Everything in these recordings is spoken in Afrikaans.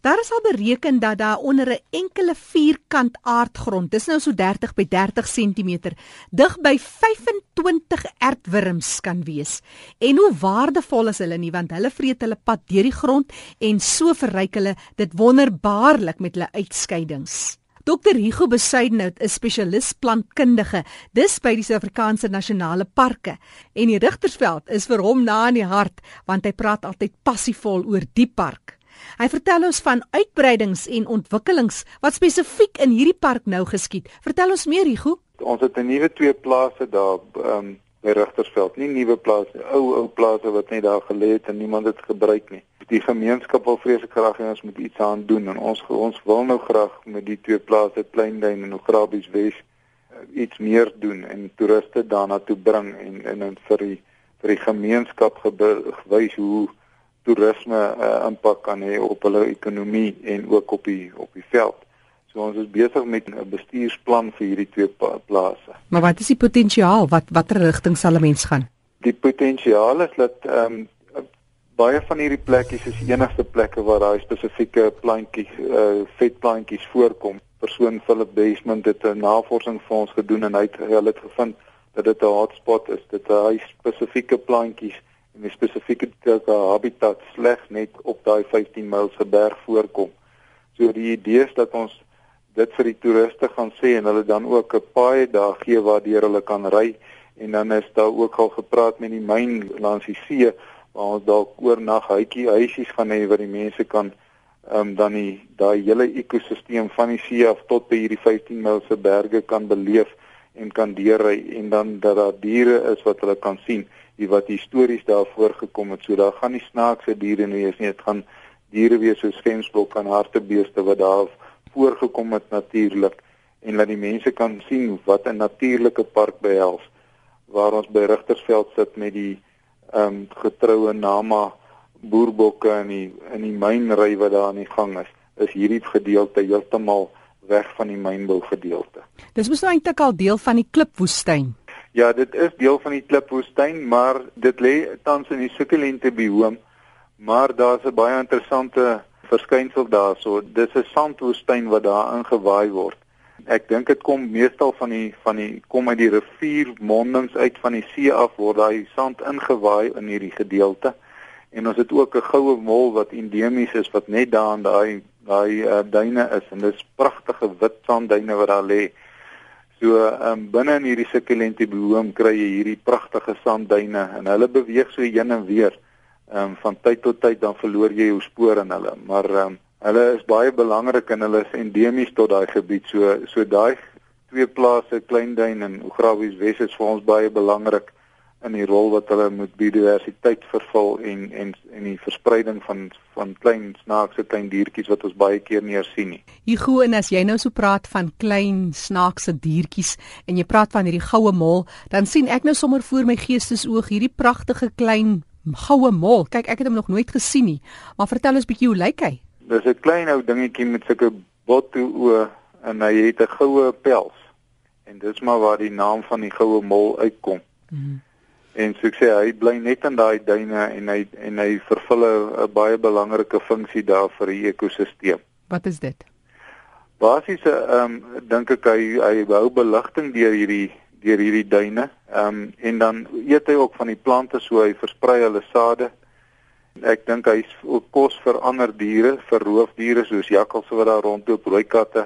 Daar is al bereken dat daar onder 'n enkele vierkant aardgrond, dis nou so 30 by 30 centimeter, dig by 25 aardwurms kan wees. En hoe waardevol is hulle nie, want hulle vreet hulle pad deur die grond en so verryk hulle dit wonderbaarlik met hulle uitskeidings. Dr. Hugo Besuidenhout is spesialis plantkundige, dis by die Suid-Afrikaanse Nasionale Parke. En die Rigtersveld is vir hom na in die hart, want hy praat altyd passievol oor die park. Hy vertel ons van uitbreidings en ontwikkelings wat spesifiek in hierdie park nou geskied. Vertel ons meer, Hugo. Ons het 'n nuwe 2 plase daar by Rigtersveld. Nie nuwe plase, ou plase wat net daar gelê het en niemand het gebruik nie. Die gemeenskap wil vreeslik graag hê ons moet iets aan doen en ons wil nou graag met die 2 plase, Kleinduin en Ograbies Wes, iets meer doen en toeriste daarna toe bring en vir die gemeenskap gewys hoe toerisme impak kan hê op hulle ekonomie en ook op die veld. So ons is besig met 'n bestuursplan vir hierdie 2 plase. Maar wat is die potensiaal? Watter rigting sal 'n mens gaan? Die potensiaal is dat baie van hierdie plekkies is enigste plekke waar daai spesifieke plantjies, vetplantjies voorkom. Persoon Philip Desmond het 'n navorsing vir ons gedoen en hy het gevind dat dit 'n hotspot is. Dit hy spesifieke plantjies en die spesifieke habitat slegs net op daai 15 mylse berg voorkom. So die idee is dat ons dit vir die toeriste gaan sê en hulle dan ook 'n paai daar gee waardeur hulle kan ry en dan is daar ook al gepraat met die myn langs die see waar ons dalk oornag huisies gaan hê waar die mense kan dan daai hele ekosisteem van die see af tot by hierdie 15 mylse berge kan beleef en kan deurry en dan dat daar diere is wat hulle kan sien, wat histories daar voorgekom het. So daar gaan nie snaakse diere wees nie, dit gaan diere wees soos gemsbok en hartebeeste wat daar voorgekom het natuurlik en dat die mense kan sien wat 'n natuurlike park behels waar ons by Rigtersveld sit met die getroue Nama boerbokke en die mynry wat daar aan die gang is hierdie gedeelte heeltemal weg van die mynbou gedeelte. Dis mos nou eintlik al deel van die klipwoestyn. Ja, dit is deel van die klipwoestyn, maar dit lê tans in die sukkulente bioom, maar daar's 'n baie interessante verskynsel daarso. Dis 'n sandwoestyn wat daar ingewaai word. Ek dink dit kom meestal kom uit die riviermondings uit van die see af word daai sand ingewaai in hierdie gedeelte. En ons het ook 'n goue mol wat endemies is wat net daar aan daai duine is en dis pragtige wit sandduine wat daar lê. So binne in hierdie sukkulente bioom kry jy hierdie pragtige sandduine en hulle beweeg so heen en weer. Van tyd tot tyd dan verloor jy jou spoor in hulle, maar hulle is baie belangrik en hulle is endemies tot daai gebied. So daai 2 plase, Kleinduin en Ograbies Wes is vir ons baie belangrik in die rol wat hulle moet biodiversiteit vervul en die verspreiding van klein snaakse klein diertjies wat ons baie keer nie sien nie. Hugo, en as jy nou so praat van klein snaakse diertjies en jy praat van hierdie goue mol, dan sien ek nou sommer voor my geestesoog hierdie pragtige klein goue mol. Kyk, ek het hom nog nooit gesien nie, maar vertel ons bietjie hoe lyk hy? Dis 'n klein ou dingetjie met sulke botto oë en hy het 'n goue pels. En dis maar waar die naam van die goue mol uitkom. En so ek sê, hy bly net in daai duine en hy vervul 'n baie belangrike funksie daar vir die ekosisteem. Wat is dit? Basies dink ek hy hou beligting deur hierdie duine. En dan eet hy ook van die plante, so hy versprei hulle sade. Ek dink hy is ook kos vir ander diere, vir roofdiere soos jakkalse wat daar rondloop, rooi katte.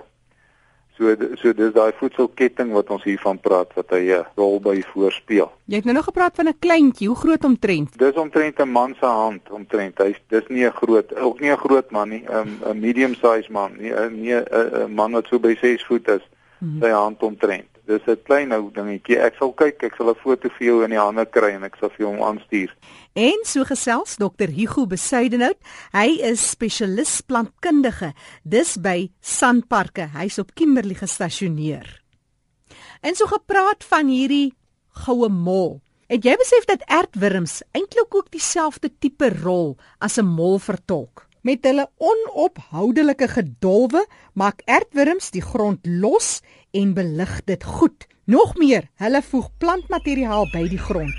So dis daai voedselketting wat ons hiervan praat wat hy 'n rol by voorspeel. Jy het nou gepraat van 'n kleintjie, hoe groot omtrent? Dis omtrent 'n man se hand omtrent. Dis nie 'n groot man nie, 'n medium size man, nie 'n man wat so by 6 voet is, sy hand omtrent. Dis 'n klein ou dingetjie. Ek sal 'n foto vir jou in die hande kry en ek sal vir hom aanstuur. En so gesels Dr. Hugo Besuidenhout. Hy is spesialis plantkundige, dis by Sanparke. Hy's op Kimberley gestasioneer. En so gepraat van hierdie goue mol. Het jy besef dat aardwurms eintlik ook dieselfde tipe rol as 'n mol vertolk? Met hulle onophoudelike gedolwe maak aardwurms die grond los en belig dit goed. Nog meer, hulle voeg plantmateriaal by die grond.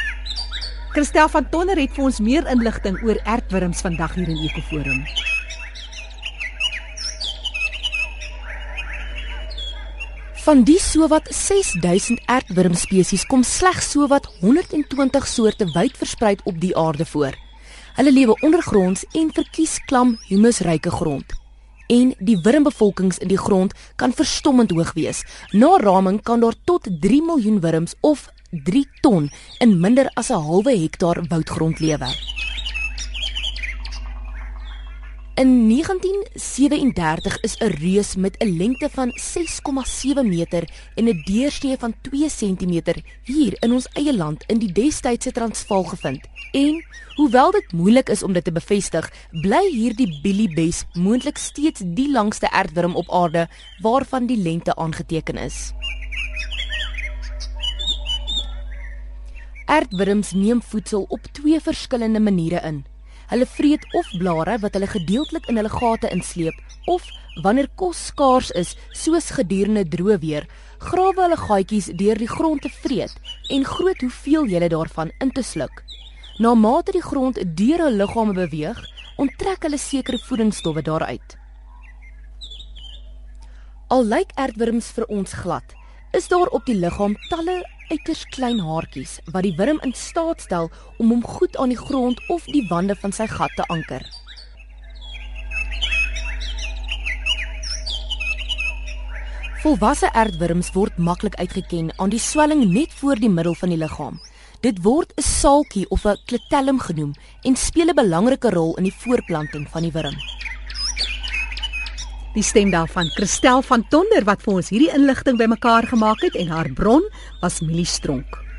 Christel van Tonner het vir ons meer inligting oor aardwurms vandag hier in Ekoforum. Van die sowat 6000 aardwurmspesies kom slegs sowat 120 soorte wyd verspreid op die aarde voor. Hulle lewe ondergronds en verkies klam humusryke grond. En die wurmbevolkings in die grond kan verstommend hoog wees. Na raming kan daar tot 3 miljoen wurms of 3 ton in minder as 'n halwe hektaar woudgrond lewe. In 1937 is 'n reus met 'n lengte van 6,7 meter en 'n deursnee van 2 cm hier in ons eie land in die destydse Transvaal gevind. En hoewel dit moeilik is om dit te bevestig, bly hierdie biliebes moontlik steeds die langste aardwurm op aarde waarvan die lengte aangeteken is. Aardwurms neem voedsel op 2 verskillende maniere in. Hulle vreet of blare wat hulle gedeeltelik in hulle gate insleep, of wanneer kos skaars is, soos gedurende droë weer, grawe hulle gaatjies deur die grond te vreet en groot hoeveelhede daarvan in te sluk. Na mate die grond deur hul liggame beweeg, onttrek hulle sekere voedingsstowwe daaruit. Al lyk aardwurms vir ons glad, is daar op die liggaam talle uiters klein haartjies wat die wurm in staat stel om hom goed aan die grond of die wande van sy gat te anker. Volwasse aardwurms word maklik uitgeken aan die swelling net voor die middel van die liggaam. Dit word 'n saaltjie of 'n clitellum genoem en speel 'n belangrike rol in die voorplanting van die wurm. Die stem daarvan Christel van Tonder wat vir ons hierdie inligting bymekaar gemaak het en haar bron was Millie Stronk.